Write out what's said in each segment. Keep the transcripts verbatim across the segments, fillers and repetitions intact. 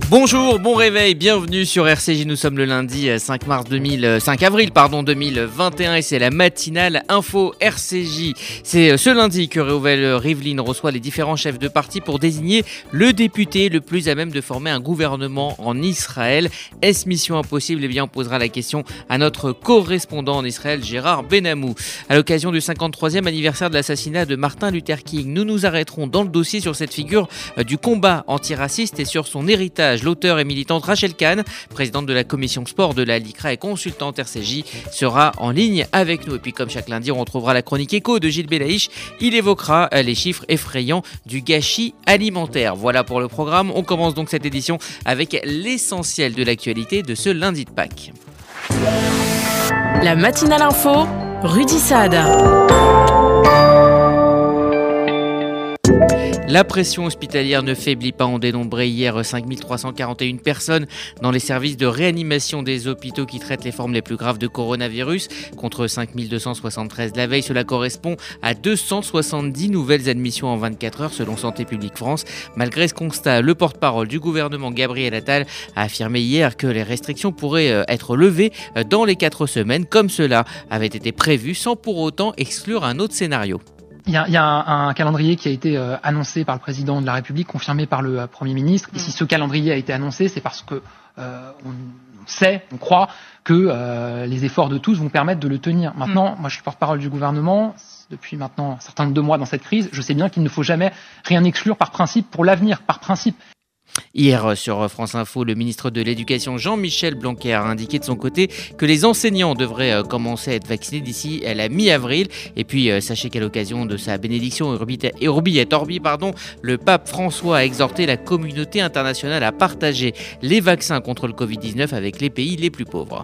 Bonjour, bon réveil, bienvenue sur R C J. Nous sommes le lundi cinq mars deux mille, cinq avril pardon, deux mille vingt et un et c'est la matinale info R C J. C'est ce lundi que Reuven Rivlin reçoit les différents chefs de parti pour désigner le député le plus à même de former un gouvernement en Israël. Est-ce mission impossible? Eh bien, on posera la question à notre correspondant en Israël, Gérard Benamou. À l'occasion du cinquante-troisième anniversaire de l'assassinat de Martin Luther King, nous nous arrêterons dans le dossier sur cette figure du combat antiraciste et sur son héritage. L'auteure et militante Rachel Kahn, présidente de la commission sport de la LICRA et consultante R C J, sera en ligne avec nous. Et puis comme chaque lundi, on retrouvera la chronique éco de Gilles Belaïch. Il évoquera les chiffres effrayants du gâchis alimentaire. Voilà pour le programme. On commence donc cette édition avec l'essentiel de l'actualité de ce lundi de Pâques. La matinale info, Rudy Saad. La pression hospitalière ne faiblit pas. On dénombrait hier cinq mille trois cent quarante et une personnes dans les services de réanimation des hôpitaux qui traitent les formes les plus graves de coronavirus, contre cinq mille deux cent soixante-treize la veille. Cela correspond à deux cent soixante-dix nouvelles admissions en vingt-quatre heures selon Santé publique France. Malgré ce constat, le porte-parole du gouvernement, Gabriel Attal, a affirmé hier que les restrictions pourraient être levées dans les quatre semaines, comme cela avait été prévu, sans pour autant exclure un autre scénario. Il y a, il y a un, un calendrier qui a été euh, annoncé par le président de la République, confirmé par le euh, Premier ministre. Et si ce calendrier a été annoncé, c'est parce que euh, on sait, on croit que euh, les efforts de tous vont permettre de le tenir. Maintenant, mmh. moi je suis porte-parole du gouvernement. Depuis maintenant un certain nombre de mois dans cette crise, je sais bien qu'il ne faut jamais rien exclure par principe pour l'avenir, par principe. Hier, sur France Info, le ministre de l'Éducation Jean-Michel Blanquer a indiqué de son côté que les enseignants devraient commencer à être vaccinés d'ici à la mi-avril. Et puis, sachez qu'à l'occasion de sa bénédiction Urbi et Orbi, pardon, le pape François a exhorté la communauté internationale à partager les vaccins contre le covid dix-neuf avec les pays les plus pauvres.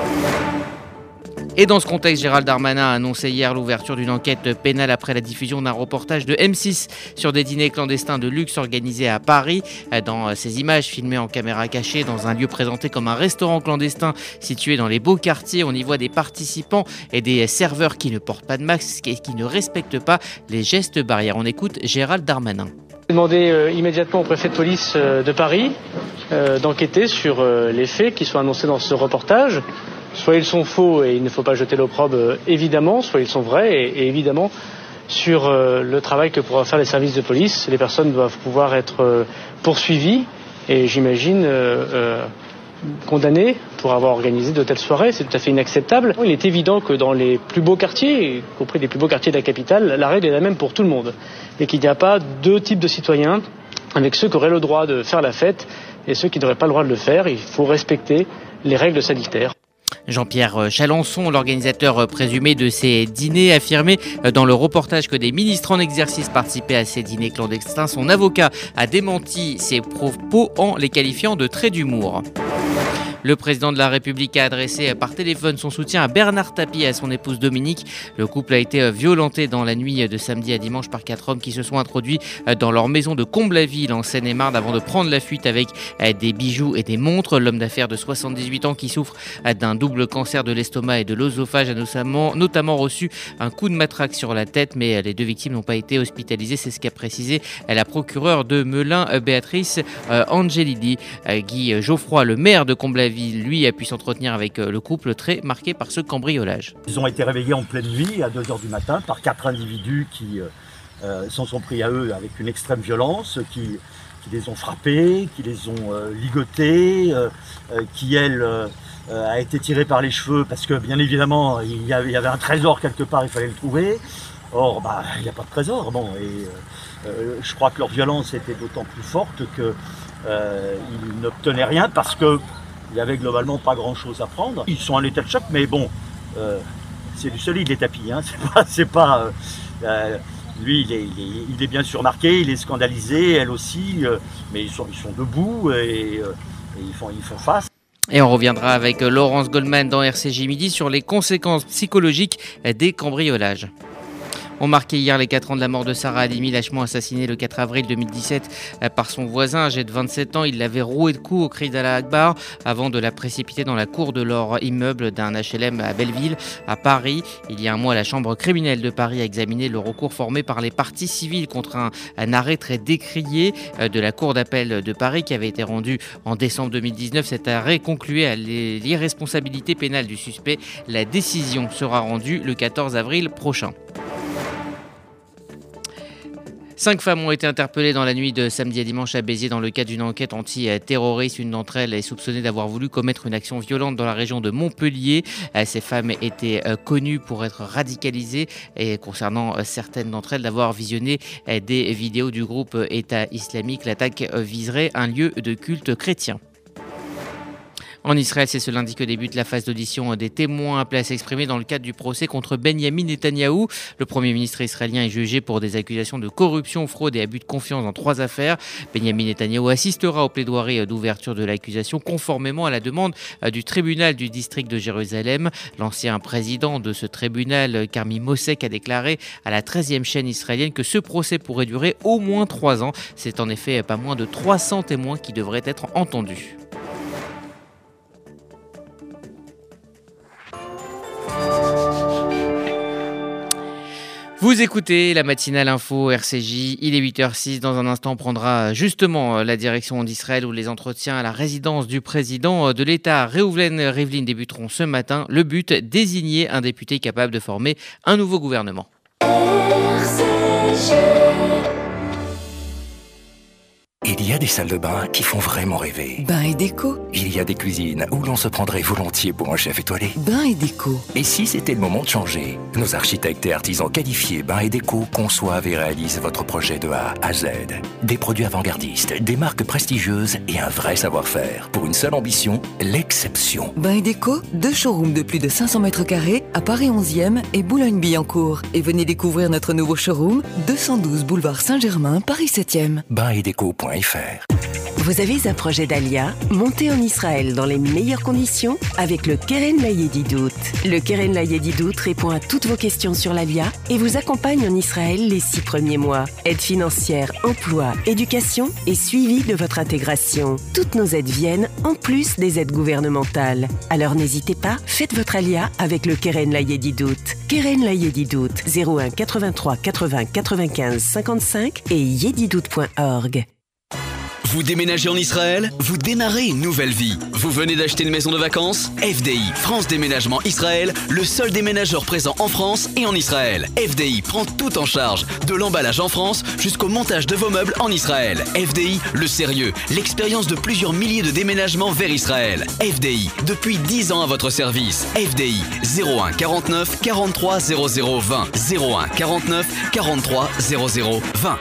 Et dans ce contexte, Gérald Darmanin a annoncé hier l'ouverture d'une enquête pénale après la diffusion d'un reportage de M six sur des dîners clandestins de luxe organisés à Paris. Dans ces images filmées en caméra cachée dans un lieu présenté comme un restaurant clandestin situé dans les beaux quartiers, on y voit des participants et des serveurs qui ne portent pas de masque et qui ne respectent pas les gestes barrières. On écoute Gérald Darmanin. J'ai demandé euh, immédiatement au préfet de police euh, de Paris euh, d'enquêter sur euh, les faits qui sont annoncés dans ce reportage. Soit ils sont faux et il ne faut pas jeter l'opprobre, euh, évidemment, soit ils sont vrais et, et évidemment, sur euh, le travail que pourront faire les services de police, les personnes doivent pouvoir être euh, poursuivies et j'imagine euh, euh, condamnées pour avoir organisé de telles soirées. C'est tout à fait inacceptable. Il est évident que dans les plus beaux quartiers, y compris les plus beaux quartiers de la capitale, la règle est la même pour tout le monde et qu'il n'y a pas deux types de citoyens avec ceux qui auraient le droit de faire la fête et ceux qui n'auraient pas le droit de le faire. Il faut respecter les règles sanitaires. Jean-Pierre Chalençon, l'organisateur présumé de ces dîners, affirmait dans le reportage que des ministres en exercice participaient à ces dîners clandestins. Son avocat a démenti ces propos en les qualifiant de traits d'humour. Le président de la République a adressé par téléphone son soutien à Bernard Tapie et à son épouse Dominique. Le couple a été violenté dans la nuit de samedi à dimanche par quatre hommes qui se sont introduits dans leur maison de Comble-la-Ville en Seine-et-Marne avant de prendre la fuite avec des bijoux et des montres. L'homme d'affaires de soixante-dix-huit ans qui souffre d'un double cancer de l'estomac et de l'œsophage a notamment, notamment reçu un coup de matraque sur la tête, mais les deux victimes n'ont pas été hospitalisées. C'est ce qu'a précisé la procureure de Melun, Béatrice Angelidi. Guy Geoffroy, le maire de Comble-la-Ville, lui, a pu s'entretenir avec le couple très marqué par ce cambriolage. Ils ont été réveillés en pleine nuit à deux heures du matin par quatre individus qui euh, s'en sont pris à eux avec une extrême violence, qui, qui les ont frappés, qui les ont euh, ligotés, euh, qui elle euh, a été tirée par les cheveux parce que bien évidemment il y avait, il y avait un trésor quelque part, il fallait le trouver. Or, bah, il n'y a pas de trésor. Bon, et euh, je crois que leur violence était d'autant plus forte qu'ils euh, n'obtenaient rien parce que il n'y avait globalement pas grand-chose à prendre. Ils sont en état de choc, mais bon, euh, c'est du solide les tapis. Hein. C'est pas, c'est pas, euh, euh, lui, il est, il, est, il est bien sûr marqué, il est scandalisé, elle aussi, euh, mais ils sont, ils sont debout et, euh, et ils, font, ils font face. Et on reviendra avec Laurence Goldman dans R C J Midi sur les conséquences psychologiques des cambriolages. On marquait hier les quatre ans de la mort de Sarah Halimi, lâchement assassinée le quatre avril deux mille dix-sept par son voisin âgé de vingt-sept ans. Il l'avait rouée de coups au cri d'Allah Akbar avant de la précipiter dans la cour de leur immeuble d'un H L M à Belleville, à Paris. Il y a un mois, la chambre criminelle de Paris a examiné le recours formé par les parties civiles contre un, un arrêt très décrié de la cour d'appel de Paris qui avait été rendu en décembre deux mille dix-neuf. Cet arrêt concluait à l'irresponsabilité pénale du suspect. La décision sera rendue le quatorze avril prochain. Cinq femmes ont été interpellées dans la nuit de samedi à dimanche à Béziers dans le cadre d'une enquête anti-terroriste. Une d'entre elles est soupçonnée d'avoir voulu commettre une action violente dans la région de Montpellier. Ces femmes étaient connues pour être radicalisées et concernant certaines d'entre elles d'avoir visionné des vidéos du groupe État islamique. L'attaque viserait un lieu de culte chrétien. En Israël, c'est ce lundi que débute la phase d'audition des témoins appelés à s'exprimer dans le cadre du procès contre Benyamin Netanyahou. Le Premier ministre israélien est jugé pour des accusations de corruption, fraude et abus de confiance dans trois affaires. Benyamin Netanyahou assistera aux plaidoiries d'ouverture de l'accusation conformément à la demande du tribunal du district de Jérusalem. L'ancien président de ce tribunal, Karmi Mosek, a déclaré à la treizième chaîne israélienne que ce procès pourrait durer au moins trois ans. C'est en effet pas moins de trois cents témoins qui devraient être entendus. Vous écoutez la matinale info R C J, il est huit heures six. Dans un instant, on prendra justement la direction d'Israël où les entretiens à la résidence du président de l'État, Reuven Rivlin, débuteront ce matin. Le but, désigner un député capable de former un nouveau gouvernement. R C J. Il y a des salles de bain qui font vraiment rêver. Bain et déco. Il y a des cuisines où l'on se prendrait volontiers pour un chef étoilé. Bain et déco. Et si c'était le moment de changer? Nos architectes et artisans qualifiés Bain et déco conçoivent et réalisent votre projet de A à Z. Des produits avant-gardistes, des marques prestigieuses et un vrai savoir-faire. Pour une seule ambition, l'exception. Bain et déco, deux showrooms de plus de cinq cents mètres carrés à Paris onzième et Boulogne-Billancourt. Et venez découvrir notre nouveau showroom, deux cent douze boulevard Saint-Germain, Paris septième. bain et déco point f r. Vous avez un projet d'Alia, montez en Israël dans les meilleures conditions avec le Keren Layedidout. Le Keren Layedidout répond à toutes vos questions sur l'Alia et vous accompagne en Israël les six premiers mois. Aide financière, emploi, éducation et suivi de votre intégration. Toutes nos aides viennent en plus des aides gouvernementales. Alors n'hésitez pas, faites votre Alia avec le Keren Layedidout. Keren Layedidout, zéro un quatre-vingt-trois quatre-vingts quatre-vingt-quinze cinquante-cinq et yedidout point org. Vous déménagez en Israël? Vous démarrez une nouvelle vie. Vous venez d'acheter une maison de vacances? F D I, France Déménagement Israël, le seul déménageur présent en France et en Israël. F D I prend tout en charge, de l'emballage en France jusqu'au montage de vos meubles en Israël. F D I, le sérieux, l'expérience de plusieurs milliers de déménagements vers Israël. F D I, depuis dix ans à votre service. F D I, zéro un quarante-neuf quarante-trois zéro zéro vingt. zéro un quarante-neuf quarante-trois zéro zéro vingt.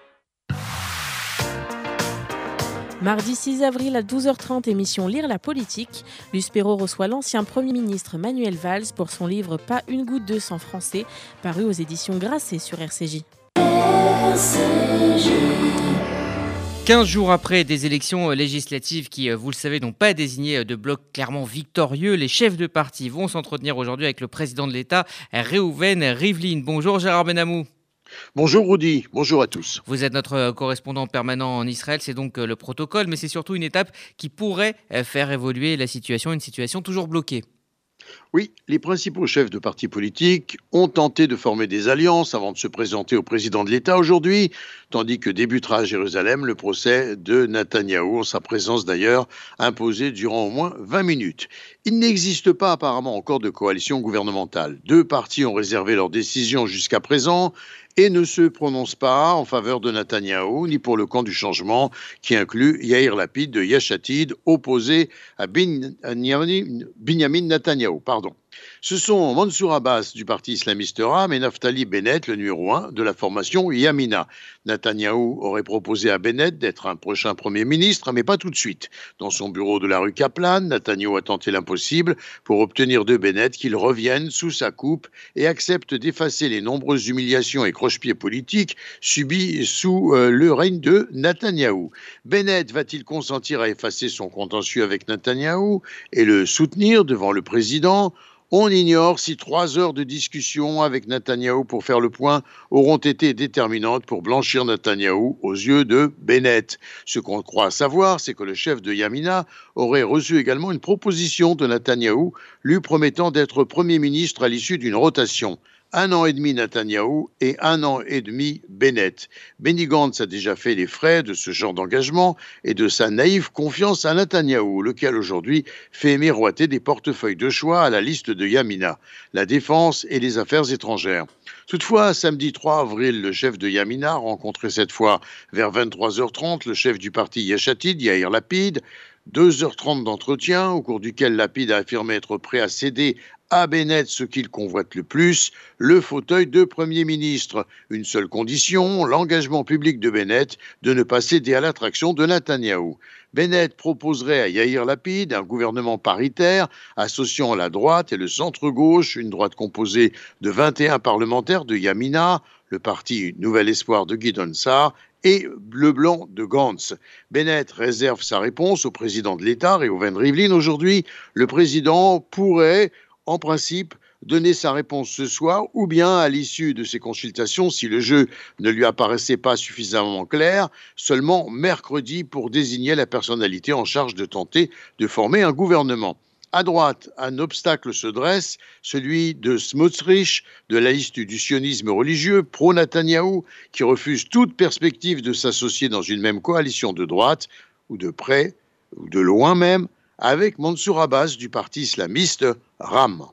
Mardi six avril à douze heures trente, émission Lire la politique. Luce Perrault reçoit l'ancien Premier ministre Manuel Valls pour son livre Pas une goutte de sang français, paru aux éditions Grasset sur R C J. R C J. quinze jours après des élections législatives qui, vous le savez, n'ont pas désigné de bloc clairement victorieux, les chefs de parti vont s'entretenir aujourd'hui avec le président de l'État, Reuven Rivlin. Bonjour Gérard Benamou. Bonjour Rudy, bonjour à tous. Vous êtes notre correspondant permanent en Israël, c'est donc le protocole, mais c'est surtout une étape qui pourrait faire évoluer la situation, une situation toujours bloquée. Oui, les principaux chefs de partis politiques ont tenté de former des alliances avant de se présenter au président de l'État aujourd'hui, tandis que débutera à Jérusalem le procès de Netanyahou, en sa présence d'ailleurs imposée durant au moins vingt minutes. Il n'existe pas apparemment encore de coalition gouvernementale. Deux partis ont réservé leur décision jusqu'à présent et ne se prononcent pas en faveur de Netanyahou, ni pour le camp du changement, qui inclut Yair Lapid de Yesh Atid, opposé à Binyamin Netanyahou. Pardon. Ce sont Mansour Abbas du parti islamiste Ram et Naftali Bennett, le numéro un de la formation Yamina. Netanyahou aurait proposé à Bennett d'être un prochain Premier ministre, mais pas tout de suite. Dans son bureau de la rue Kaplan, Netanyahou a tenté l'impossible pour obtenir de Bennett qu'il revienne sous sa coupe et accepte d'effacer les nombreuses humiliations et croche-pieds politiques subis sous euh, le règne de Netanyahou. Bennett va-t-il consentir à effacer son contentieux avec Netanyahou et le soutenir devant le président ? On ignore si trois heures de discussion avec Netanyahou pour faire le point auront été déterminantes pour blanchir Netanyahou aux yeux de Bennett. Ce qu'on croit savoir, c'est que le chef de Yamina aurait reçu également une proposition de Netanyahou lui promettant d'être Premier ministre à l'issue d'une rotation. Un an et demi Netanyahou et un an et demi Bennett. Benny Gantz a déjà fait les frais de ce genre d'engagement et de sa naïve confiance à Netanyahou, lequel aujourd'hui fait miroiter des portefeuilles de choix à la liste de Yamina, la défense et les affaires étrangères. Toutefois, samedi trois avril, le chef de Yamina rencontrait cette fois vers vingt-trois heures trente le chef du parti Yesh Atid, Yair Lapid. deux heures trente d'entretien au cours duquel Lapid a affirmé être prêt à céder à Bennett ce qu'il convoite le plus, le fauteuil de Premier ministre. Une seule condition, l'engagement public de Bennett de ne pas céder à l'attraction de Netanyahou. Bennett proposerait à Yair Lapid un gouvernement paritaire associant la droite et le centre-gauche, une droite composée de vingt et un parlementaires de Yamina, le parti Nouvel Espoir de Gideon Sa'ar et le blanc de Gantz. Bennett réserve sa réponse au président de l'État, Reuven Rivlin. Aujourd'hui, le président pourrait, en principe, donner sa réponse ce soir ou bien à l'issue de ces consultations, si le jeu ne lui apparaissait pas suffisamment clair, seulement mercredi pour désigner la personnalité en charge de tenter de former un gouvernement. À droite, un obstacle se dresse, celui de Smotrich, de la liste du sionisme religieux, pro-Netanyahou, qui refuse toute perspective de s'associer dans une même coalition de droite, ou de près, ou de loin même, avec Mansour Abbas du parti islamiste RAM.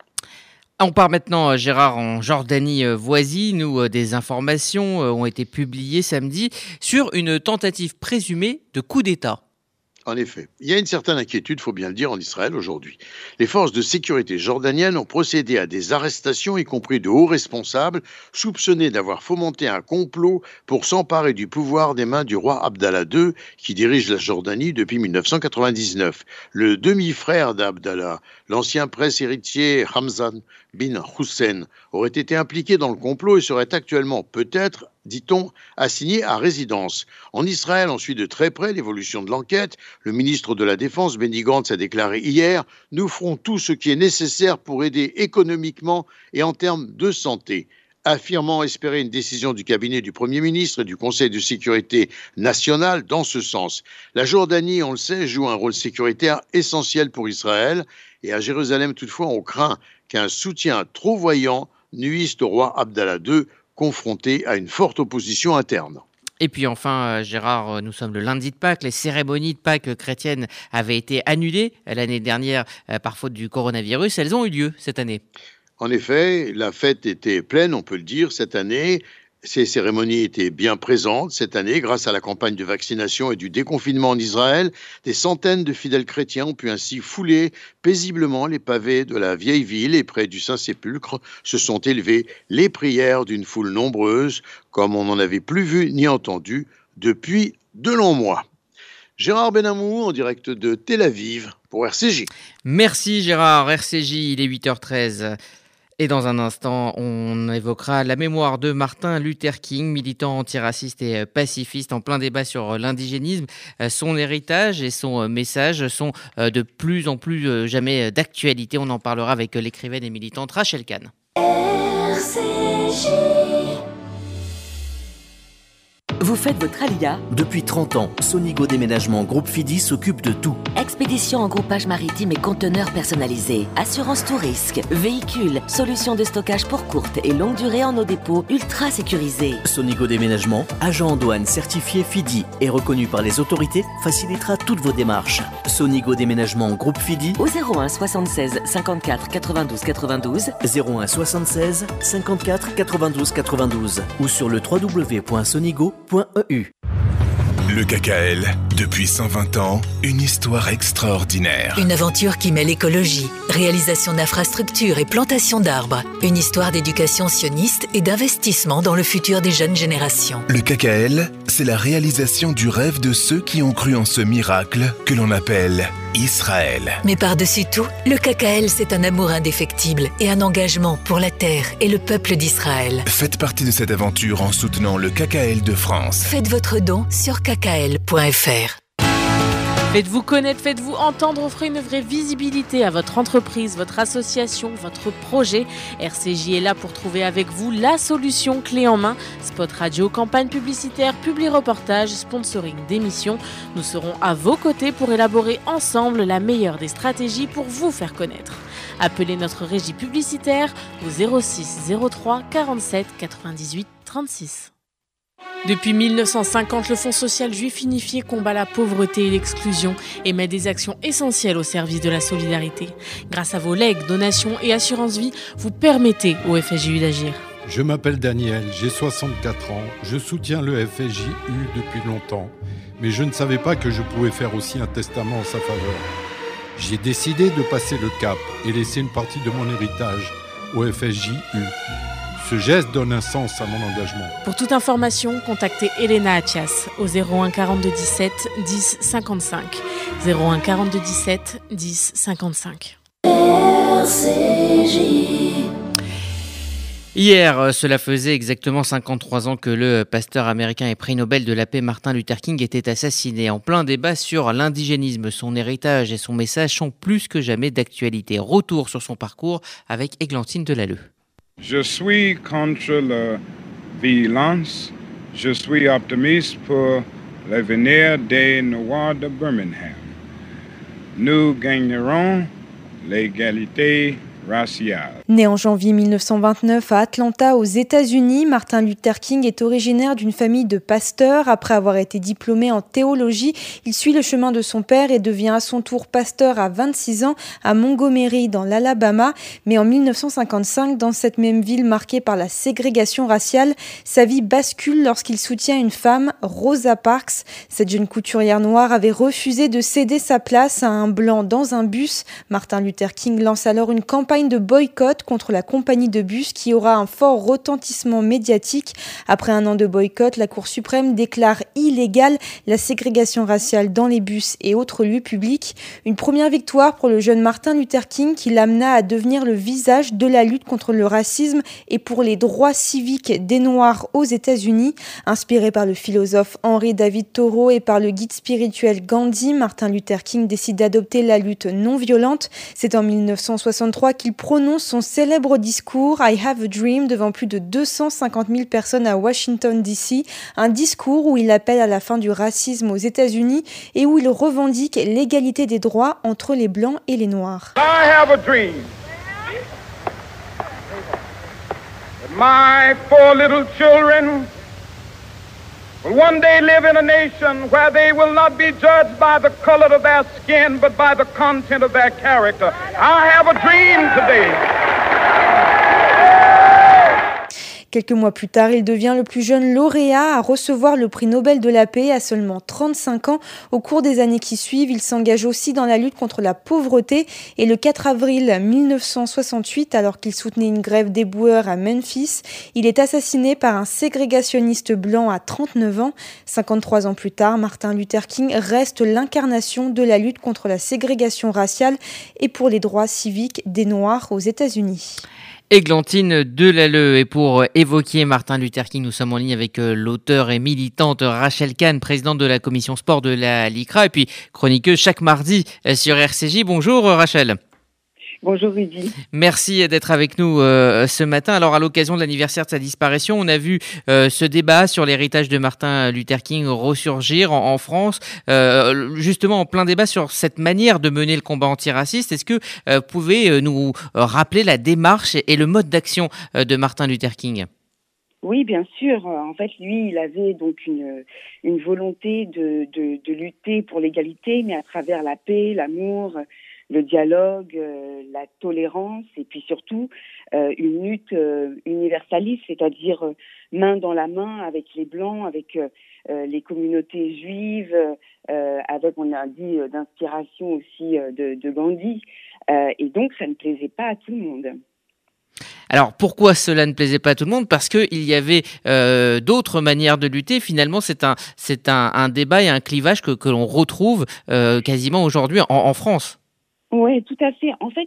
On part maintenant, Gérard, en Jordanie voisine, où des informations ont été publiées samedi sur une tentative présumée de coup d'État. En effet, il y a une certaine inquiétude, il faut bien le dire, en Israël aujourd'hui. Les forces de sécurité jordaniennes ont procédé à des arrestations, y compris de hauts responsables, soupçonnés d'avoir fomenté un complot pour s'emparer du pouvoir des mains du roi Abdallah deux, qui dirige la Jordanie depuis mille neuf cent quatre-vingt-dix-neuf. Le demi-frère d'Abdallah, l'ancien prince héritier Hamzan bin Hussein, aurait été impliqué dans le complot et serait actuellement, peut-être, dit-on, assigné à résidence. En Israël, on suit de très près l'évolution de l'enquête. Le ministre de la Défense, Benny Gantz, a déclaré hier « Nous ferons tout ce qui est nécessaire pour aider économiquement et en termes de santé », affirmant espérer une décision du cabinet du Premier ministre et du Conseil de sécurité nationale dans ce sens. La Jordanie, on le sait, joue un rôle sécuritaire essentiel pour Israël. Et à Jérusalem, toutefois, on craint qu'un soutien trop voyant nuise au roi Abdallah deux, confronté à une forte opposition interne. Et puis enfin, Gérard, nous sommes le lundi de Pâques. Les cérémonies de Pâques chrétiennes avaient été annulées l'année dernière par faute du coronavirus. Elles ont eu lieu cette année. En effet, la fête était pleine, on peut le dire, cette année. Ces cérémonies étaient bien présentes cette année grâce à la campagne de vaccination et du déconfinement en Israël. Des centaines de fidèles chrétiens ont pu ainsi fouler paisiblement les pavés de la vieille ville et près du Saint-Sépulcre se sont élevées les prières d'une foule nombreuse comme on n'en avait plus vu ni entendu depuis de longs mois. Gérard Benamou en direct de Tel Aviv pour R C J. Merci Gérard, R C J, il est huit heures treize. Et dans un instant, on évoquera la mémoire de Martin Luther King, militant antiraciste et pacifiste en plein débat sur l'indigénisme. Son héritage et son message sont de plus en plus jamais d'actualité. On en parlera avec l'écrivaine et militante Rachel Kahn. R C J. Vous faites votre alia? Depuis trente ans, Sonigo Déménagement Groupe Fidi s'occupe de tout. Expédition en groupage maritime et conteneurs personnalisés, assurance tout risque, véhicules, solutions de stockage pour courte et longue durée en nos dépôts ultra sécurisés. Sonigo Déménagement, agent en douane certifié Fidi et reconnu par les autorités, facilitera toutes vos démarches. Sonigo Déménagement Groupe Fidi au zéro un soixante-seize cinquante-quatre quatre-vingt-douze quatre-vingt-douze, zéro un soixante-seize cinquante-quatre quatre-vingt-douze quatre-vingt-douze ou sur le w w w point sonigo point e u. Le K K L, depuis cent vingt ans, une histoire extraordinaire. Une aventure qui mêle écologie, réalisation d'infrastructures et plantation d'arbres. Une histoire d'éducation sioniste et d'investissement dans le futur des jeunes générations. Le K K L, c'est la réalisation du rêve de ceux qui ont cru en ce miracle que l'on appelle Israël. Mais par-dessus tout, le K K L, c'est un amour indéfectible et un engagement pour la terre et le peuple d'Israël. Faites partie de cette aventure en soutenant le K K L de France. Faites votre don sur k k l point f r. Faites-vous connaître, faites-vous entendre, offrez une vraie visibilité à votre entreprise, votre association, votre projet. R C J est là pour trouver avec vous la solution clé en main. Spot radio, campagne publicitaire, publi-reportage, sponsoring d'émissions. Nous serons à vos côtés pour élaborer ensemble la meilleure des stratégies pour vous faire connaître. Appelez notre régie publicitaire au zéro six zéro trois quarante-sept quatre-vingt-dix-huit trente-six. Depuis mille neuf cent cinquante, le Fonds social juif unifié combat la pauvreté et l'exclusion et met des actions essentielles au service de la solidarité. Grâce à vos legs, donations et assurances vie, vous permettez au F S J U d'agir. Je m'appelle Daniel, j'ai soixante-quatre ans, je soutiens le F S J U depuis longtemps, mais je ne savais pas que je pouvais faire aussi un testament en sa faveur. J'ai décidé de passer le cap et laisser une partie de mon héritage au F S J U. Ce geste donne un sens à mon engagement. Pour toute information, contactez Elena Athias au zéro un quarante-deux dix-sept dix cinquante-cinq. zéro un quarante-deux dix-sept dix cinquante-cinq. R C J. Hier, cela faisait exactement cinquante-trois ans que le pasteur américain et prix Nobel de la paix Martin Luther King était assassiné. En plein débat sur l'indigénisme, son héritage et son message sont plus que jamais d'actualité. Retour sur son parcours avec Églantine Delalleux. Je suis contre la violence. Je suis optimiste pour l'avenir des Noirs de Birmingham. Nous gagnerons l'égalité raciale. Né en janvier mille neuf cent vingt-neuf à Atlanta, aux États-Unis, Martin Luther King est originaire d'une famille de pasteurs. Après avoir été diplômé en théologie, il suit le chemin de son père et devient à son tour pasteur à vingt-six ans à Montgomery, dans l'Alabama. Mais en mille neuf cent cinquante-cinq, dans cette même ville marquée par la ségrégation raciale, sa vie bascule lorsqu'il soutient une femme, Rosa Parks. Cette jeune couturière noire avait refusé de céder sa place à un blanc dans un bus. Martin Luther King lance alors une campagne de boycott contre la compagnie de bus qui aura un fort retentissement médiatique. Après un an de boycott, la Cour suprême déclare illégale la ségrégation raciale dans les bus et autres lieux publics. Une première victoire pour le jeune Martin Luther King qui l'amena à devenir le visage de la lutte contre le racisme et pour les droits civiques des Noirs aux États-Unis. Inspiré par le philosophe Henry David Thoreau et par le guide spirituel Gandhi, Martin Luther King décide d'adopter la lutte non violente. C'est en mille neuf cent soixante-trois qu'il prononce son célèbre discours « I have a dream » devant plus de deux cent cinquante mille personnes à Washington D C, un discours où il appelle à la fin du racisme aux États-Unis et où il revendique l'égalité des droits entre les Blancs et les Noirs. I have a dream that my four little children will one day live in a nation where they will not be judged by the color of their skin, but by the content of their character. I have a dream today. Quelques mois plus tard, il devient le plus jeune lauréat à recevoir le prix Nobel de la paix à seulement trente-cinq ans. Au cours des années qui suivent, il s'engage aussi dans la lutte contre la pauvreté. Et le quatre avril mille neuf cent soixante-huit, alors qu'il soutenait une grève d'éboueurs à Memphis, il est assassiné par un ségrégationniste blanc à trente-neuf ans. cinquante-trois ans plus tard, Martin Luther King reste l'incarnation de la lutte contre la ségrégation raciale et pour les droits civiques des Noirs aux États-Unis. Églantine Delalleux. Et pour évoquer Martin Luther King, nous sommes en ligne avec l'auteure et militante Rachel Kahn, présidente de la commission sport de la LICRA et puis chroniqueuse chaque mardi sur R C J. Bonjour Rachel. Bonjour Rudy. Merci d'être avec nous euh, ce matin. Alors à l'occasion de l'anniversaire de sa disparition, on a vu euh, ce débat sur l'héritage de Martin Luther King ressurgir en, en France, euh, justement en plein débat sur cette manière de mener le combat antiraciste. Est-ce que euh, vous pouvez euh, nous rappeler la démarche et, et le mode d'action euh, de Martin Luther King ? Oui, bien sûr. En fait, lui, il avait donc une, une volonté de, de, de lutter pour l'égalité, mais à travers la paix, l'amour, le dialogue, euh, la tolérance et puis surtout euh, une lutte euh, universaliste, c'est-à-dire euh, main dans la main avec les Blancs, avec euh, les communautés juives, euh, avec, on a dit, euh, d'inspiration aussi euh, de, de Gandhi. Euh, et donc, ça ne plaisait pas à tout le monde. Alors pourquoi cela ne plaisait pas à tout le monde ? Parce qu'il y avait euh, d'autres manières de lutter. Finalement, c'est un, c'est un, un débat et un clivage que, que l'on retrouve euh, quasiment aujourd'hui en, en France. Oui, tout à fait. En fait, ce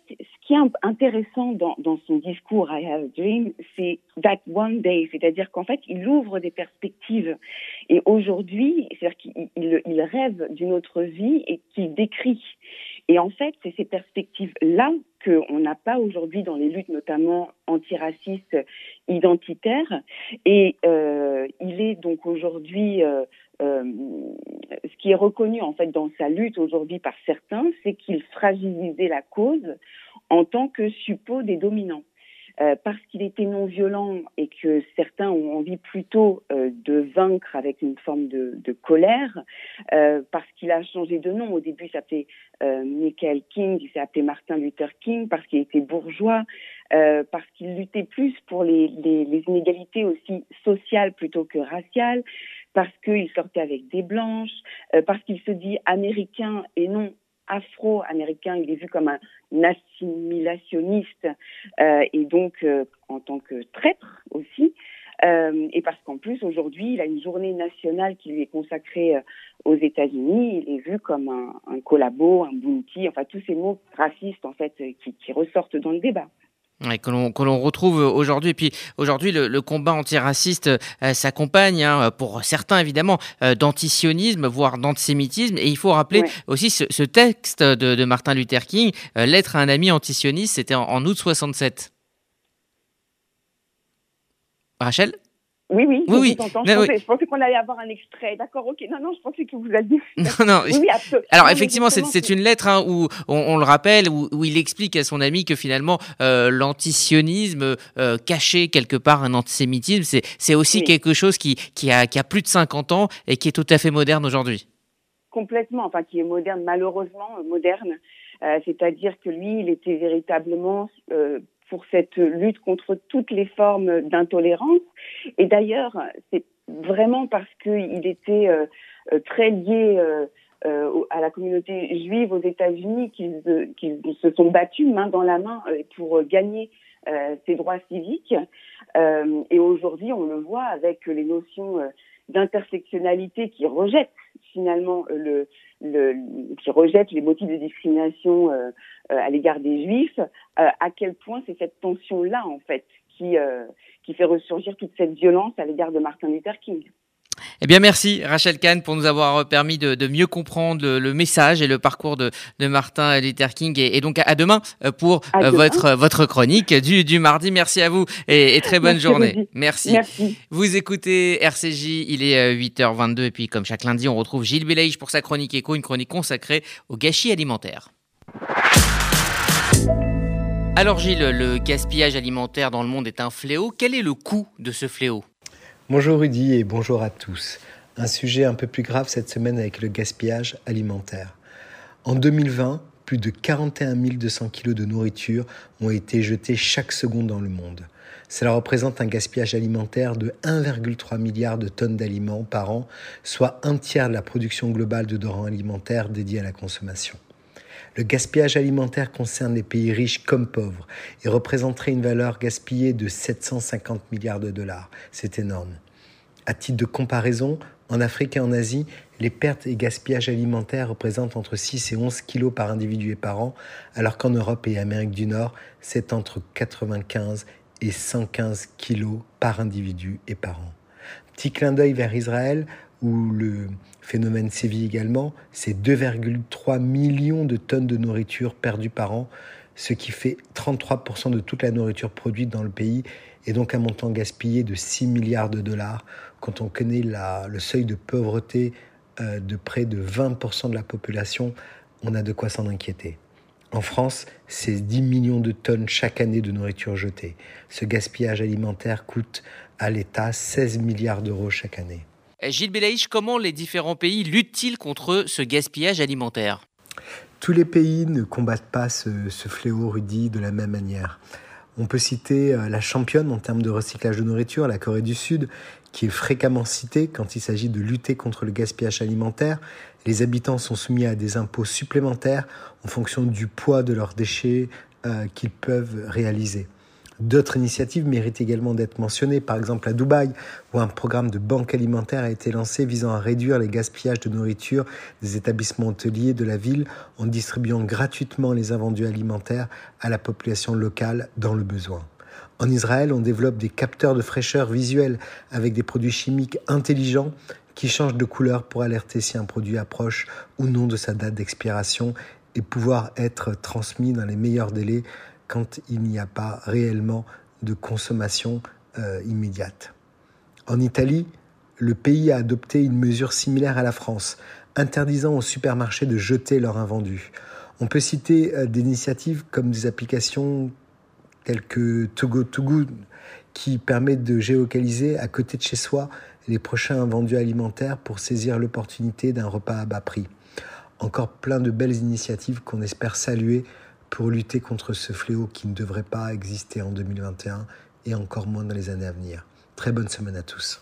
qui est intéressant dans, dans son discours I Have a Dream, c'est that one day, c'est-à-dire qu'en fait, il ouvre des perspectives. Et aujourd'hui, c'est-à-dire qu'il il, il rêve d'une autre vie et qu'il décrit. Et en fait, c'est ces perspectives-là qu'on n'a pas aujourd'hui dans les luttes, notamment antiracistes, identitaires. Et euh, il est donc aujourd'hui... Euh, euh, ce qui est reconnu en fait dans sa lutte aujourd'hui par certains, c'est qu'il fragilisait la cause en tant que suppôt des dominants. Euh, parce qu'il était non violent et que certains ont envie plutôt euh, de vaincre avec une forme de, de colère, euh, parce qu'il a changé de nom. Au début, il s'appelait euh, Michael King, il s'est appelé Martin Luther King, parce qu'il était bourgeois, euh, parce qu'il luttait plus pour les, les, les inégalités aussi sociales plutôt que raciales, parce qu'il sortait avec des blanches, euh, parce qu'il se dit américain et non afro-américain, il est vu comme un assimilationniste euh, et donc euh, en tant que traître aussi. Euh, et parce qu'en plus, aujourd'hui, il a une journée nationale qui lui est consacrée euh, aux États-Unis. Il est vu comme un, un collabo, un bounty, enfin tous ces mots racistes en fait euh, qui, qui ressortent dans le débat. Ouais, que l'on que l'on retrouve aujourd'hui. Et puis aujourd'hui, le, le combat antiraciste euh, s'accompagne, hein, pour certains évidemment, euh, d'antisionisme, voire d'antisémitisme. Et il faut rappeler ouais. aussi ce, ce texte de, de Martin Luther King, euh, Lettre à un ami antisioniste, c'était en, en août soixante-sept. Rachel ? Oui, oui, oui, oui. Je, non, pensais, oui. je pensais qu'on allait avoir un extrait. D'accord, ok. Non, non, je pensais que vous alliez... Non, non. Oui, oui, absolument. Alors, non, effectivement, c'est, c'est une lettre hein, où, on, on le rappelle, où, où il explique à son ami que finalement, euh, l'antisionisme euh, cachait quelque part un antisémitisme. C'est, c'est aussi oui. quelque chose qui, qui, a, qui a plus de cinquante ans et qui est tout à fait moderne aujourd'hui. Complètement, enfin, qui est moderne, malheureusement moderne. Euh, c'est-à-dire que lui, il était véritablement... Euh, pour cette lutte contre toutes les formes d'intolérance. Et d'ailleurs, c'est vraiment parce qu'il était euh, très lié euh, euh, à la communauté juive aux États-Unis qu'ils, euh, qu'ils se sont battus main dans la main pour gagner euh, ces droits civiques. Euh, et aujourd'hui, on le voit avec les notions euh, d'intersectionnalité qui rejettent finalement le, le, qui rejettent les motifs de discrimination euh, euh, à l'égard des Juifs, euh, à quel point c'est cette tension-là, en fait, qui, euh, qui fait ressurgir toute cette violence à l'égard de Martin Luther King. Eh bien, merci Rachel Kahn pour nous avoir permis de, de mieux comprendre le, le message et le parcours de, de Martin Luther King. Et, et donc, à demain pour à demain. votre, votre chronique du, du mardi. Merci à vous et, et très bonne merci journée. Merci. merci. Vous écoutez R C J, il est huit heures vingt-deux. Et puis, comme chaque lundi, on retrouve Gilles Belaïch pour sa chronique éco, une chronique consacrée au gâchis alimentaire. Alors Gilles, le gaspillage alimentaire dans le monde est un fléau. Quel est le coût de ce fléau ? Bonjour Rudy et bonjour à tous. Un sujet un peu plus grave cette semaine avec le gaspillage alimentaire. En deux mille vingt, plus de quarante et un mille deux cents kilos de nourriture ont été jetés chaque seconde dans le monde. Cela représente un gaspillage alimentaire de un virgule trois milliard de tonnes d'aliments par an, soit un tiers de la production globale de denrées alimentaires dédiées à la consommation. Le gaspillage alimentaire concerne les pays riches comme pauvres et représenterait une valeur gaspillée de sept cent cinquante milliards de dollars. C'est énorme. À titre de comparaison, en Afrique et en Asie, les pertes et gaspillages alimentaires représentent entre six et onze kilos par individu et par an, alors qu'en Europe et Amérique du Nord, c'est entre quatre-vingt-quinze et cent quinze kilos par individu et par an. Petit clin d'œil vers Israël, où le phénomène sévit également, c'est deux virgule trois millions de tonnes de nourriture perdues par an, ce qui fait trente-trois pour cent de toute la nourriture produite dans le pays, et donc un montant gaspillé de six milliards de dollars. Quand on connaît la, le seuil de pauvreté euh, de près de vingt pour cent de la population, on a de quoi s'en inquiéter. En France, c'est dix millions de tonnes chaque année de nourriture jetée. Ce gaspillage alimentaire coûte à l'État seize milliards d'euros chaque année. Gilles Belaïch, comment les différents pays luttent-ils contre ce gaspillage alimentaire ? Tous les pays ne combattent pas ce, ce fléau, Rudy, de la même manière. On peut citer la championne en termes de recyclage de nourriture, la Corée du Sud, qui est fréquemment citée quand il s'agit de lutter contre le gaspillage alimentaire. Les habitants sont soumis à des impôts supplémentaires en fonction du poids de leurs déchets euh, qu'ils peuvent réaliser. D'autres initiatives méritent également d'être mentionnées. Par exemple, à Dubaï, où un programme de banque alimentaire a été lancé visant à réduire les gaspillages de nourriture des établissements hôteliers de la ville en distribuant gratuitement les invendus alimentaires à la population locale dans le besoin. En Israël, on développe des capteurs de fraîcheur visuelle avec des produits chimiques intelligents qui changent de couleur pour alerter si un produit approche ou non de sa date d'expiration et pouvoir être transmis dans les meilleurs délais quand il n'y a pas réellement de consommation euh, immédiate. En Italie, le pays a adopté une mesure similaire à la France, interdisant aux supermarchés de jeter leurs invendus. On peut citer euh, des initiatives comme des applications telles que Too Good To Go, qui permettent de géolocaliser à côté de chez soi les prochains invendus alimentaires pour saisir l'opportunité d'un repas à bas prix. Encore plein de belles initiatives qu'on espère saluer pour lutter contre ce fléau qui ne devrait pas exister en deux mille vingt et un et encore moins dans les années à venir. Très bonne semaine à tous.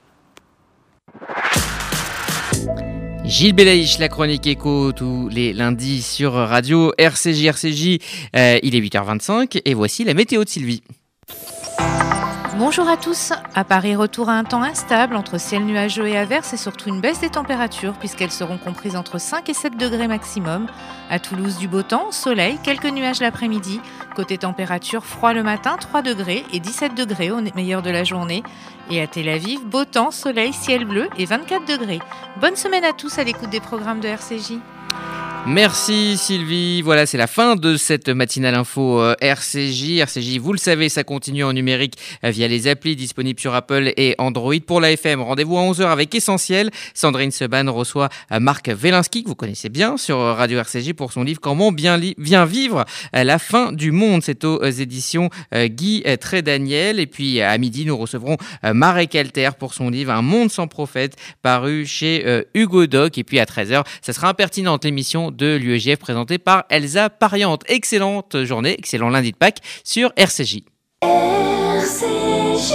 Gilles Belaïch, la chronique écho tous les lundis sur Radio R C J. R C J, euh, il est huit heures vingt-cinq et voici la météo de Sylvie. Bonjour à tous. À Paris, retour à un temps instable entre ciel nuageux et averses et surtout une baisse des températures puisqu'elles seront comprises entre cinq et sept degrés maximum. À Toulouse, du beau temps, soleil, quelques nuages l'après-midi. Côté température, froid le matin, trois degrés et dix-sept degrés au meilleur de la journée. Et à Tel Aviv, beau temps, soleil, ciel bleu et vingt-quatre degrés. Bonne semaine à tous à l'écoute des programmes de R C J. Merci Sylvie, voilà c'est la fin de cette matinale info euh, R C J. R C J, vous le savez, ça continue en numérique euh, via les applis disponibles sur Apple et Android. Pour la F M, rendez-vous à onze heures avec Essentiel. Sandrine Seban reçoit euh, Marc Wielinski, que vous connaissez bien sur Radio R C J pour son livre Comment bien, li- bien vivre euh, la fin du monde. C'est aux euh, éditions euh, Guy euh, Trédaniel. Et puis à midi, nous recevrons euh, Marek Alter pour son livre Un monde sans prophète, paru chez euh, Hugo Doc. Et puis à treize heures, ça sera impertinente l'émission de l'U E J F présentée par Elsa Pariante. Excellente journée, excellent lundi de Pâques sur R C J. R C J.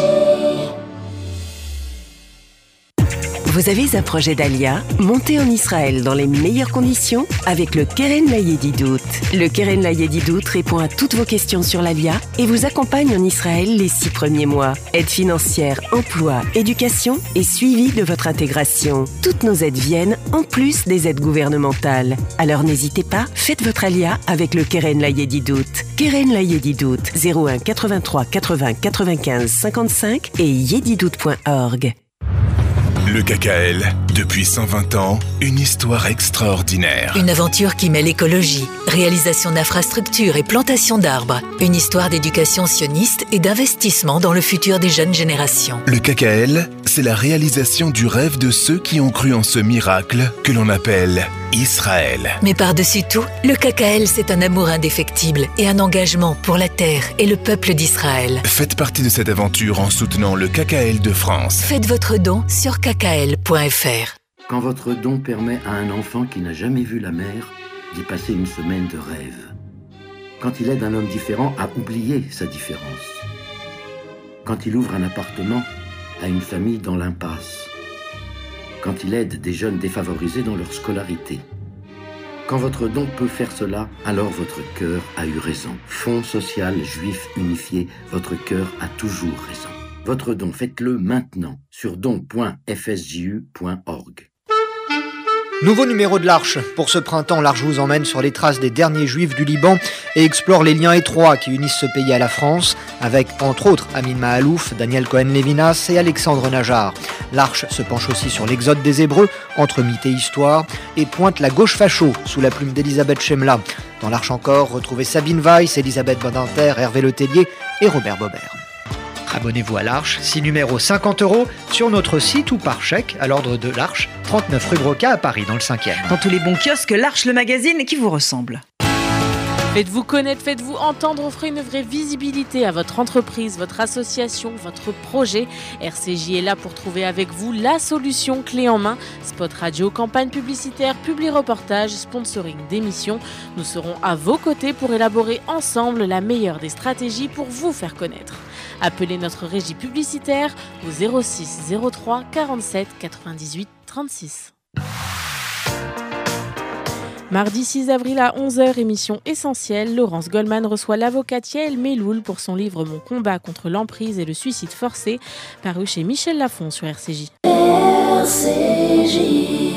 Vous avez un projet d'Alia? Montez en Israël dans les meilleures conditions avec le Keren Layedidout. Le Keren Layedidout répond à toutes vos questions sur l'Alia et vous accompagne en Israël les six premiers mois. Aide financière, emploi, éducation et suivi de votre intégration. Toutes nos aides viennent en plus des aides gouvernementales. Alors n'hésitez pas, faites votre Alia avec le Keren Layedidout. Keren Layedidout, zéro un quatre-vingt-trois quatre-vingts quatre-vingt-quinze cinquante-cinq et yedidout point org. Le K K L, depuis cent vingt ans, une histoire extraordinaire. Une aventure qui mêle écologie, réalisation d'infrastructures et plantation d'arbres. Une histoire d'éducation sioniste et d'investissement dans le futur des jeunes générations. Le K K L, c'est la réalisation du rêve de ceux qui ont cru en ce miracle que l'on appelle Israël. Mais par-dessus tout, le K K L, c'est un amour indéfectible et un engagement pour la terre et le peuple d'Israël. Faites partie de cette aventure en soutenant le K K L de France. Faites votre don sur k k l point f r. Quand votre don permet à un enfant qui n'a jamais vu la mer d'y passer une semaine de rêve. Quand il aide un homme différent à oublier sa différence. Quand il ouvre un appartement à une famille dans l'impasse. Quand il aide des jeunes défavorisés dans leur scolarité. Quand votre don peut faire cela, alors votre cœur a eu raison. Fonds social juif unifié, votre cœur a toujours raison. Votre don, faites-le maintenant sur don point f s j u point org. Nouveau numéro de l'Arche. Pour ce printemps, l'Arche vous emmène sur les traces des derniers juifs du Liban et explore les liens étroits qui unissent ce pays à la France, avec entre autres Amin Mahalouf, Daniel Cohen-Lévinas et Alexandre Najar. L'Arche se penche aussi sur l'exode des Hébreux, entre mythe et histoire, et pointe la gauche facho sous la plume d'Elisabeth Chemla. Dans l'Arche encore, retrouvez Sabine Weiss, Elisabeth Badinter, Hervé Letellier et Robert Bobert. Abonnez-vous à l'Arche, six numéros cinquante euros, sur notre site ou par chèque à l'ordre de l'Arche, trente-neuf rue Broca à Paris, dans le cinquième. Dans tous les bons kiosques, l'Arche, le magazine qui vous ressemble. Faites-vous connaître, faites-vous entendre, offrez une vraie visibilité à votre entreprise, votre association, votre projet. R C J est là pour trouver avec vous la solution clé en main. Spot radio, campagne publicitaire, publi-reportage, sponsoring d'émissions. Nous serons à vos côtés pour élaborer ensemble la meilleure des stratégies pour vous faire connaître. Appelez notre régie publicitaire au zéro six zéro trois quarante-sept quatre-vingt-dix-huit trente-six. Mardi six avril à onze heures, émission essentielle, Laurence Goldman reçoit l'avocate Yael Meloul pour son livre Mon combat contre l'emprise et le suicide forcé, paru chez Michel Lafon sur R C J. R C J.